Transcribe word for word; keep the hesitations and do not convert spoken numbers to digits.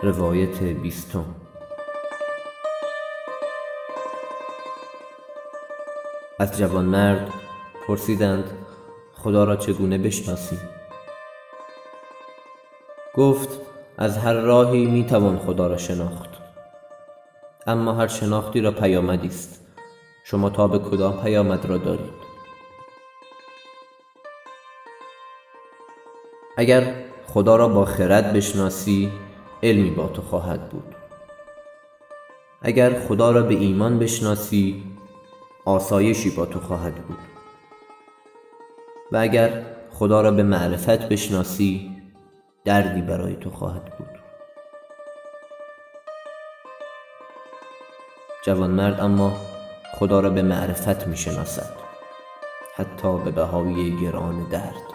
روایت بیستم. از جوانمرد پرسیدند خدا را چگونه بشناسی؟ گفت از هر راهی میتوان خدا را شناخت، اما هر شناختی را پیامدی است. شما تا به کدام پیامد را دارید؟ اگر خدا را با خرد بشناسی، علمی با تو خواهد بود. اگر خدا را به ایمان بشناسی، آسایشی با تو خواهد بود. و اگر خدا را به معرفت بشناسی، دردی برای تو خواهد بود. جوانمرد اما خدا را به معرفت می شناسد، حتی به بهای گران درد.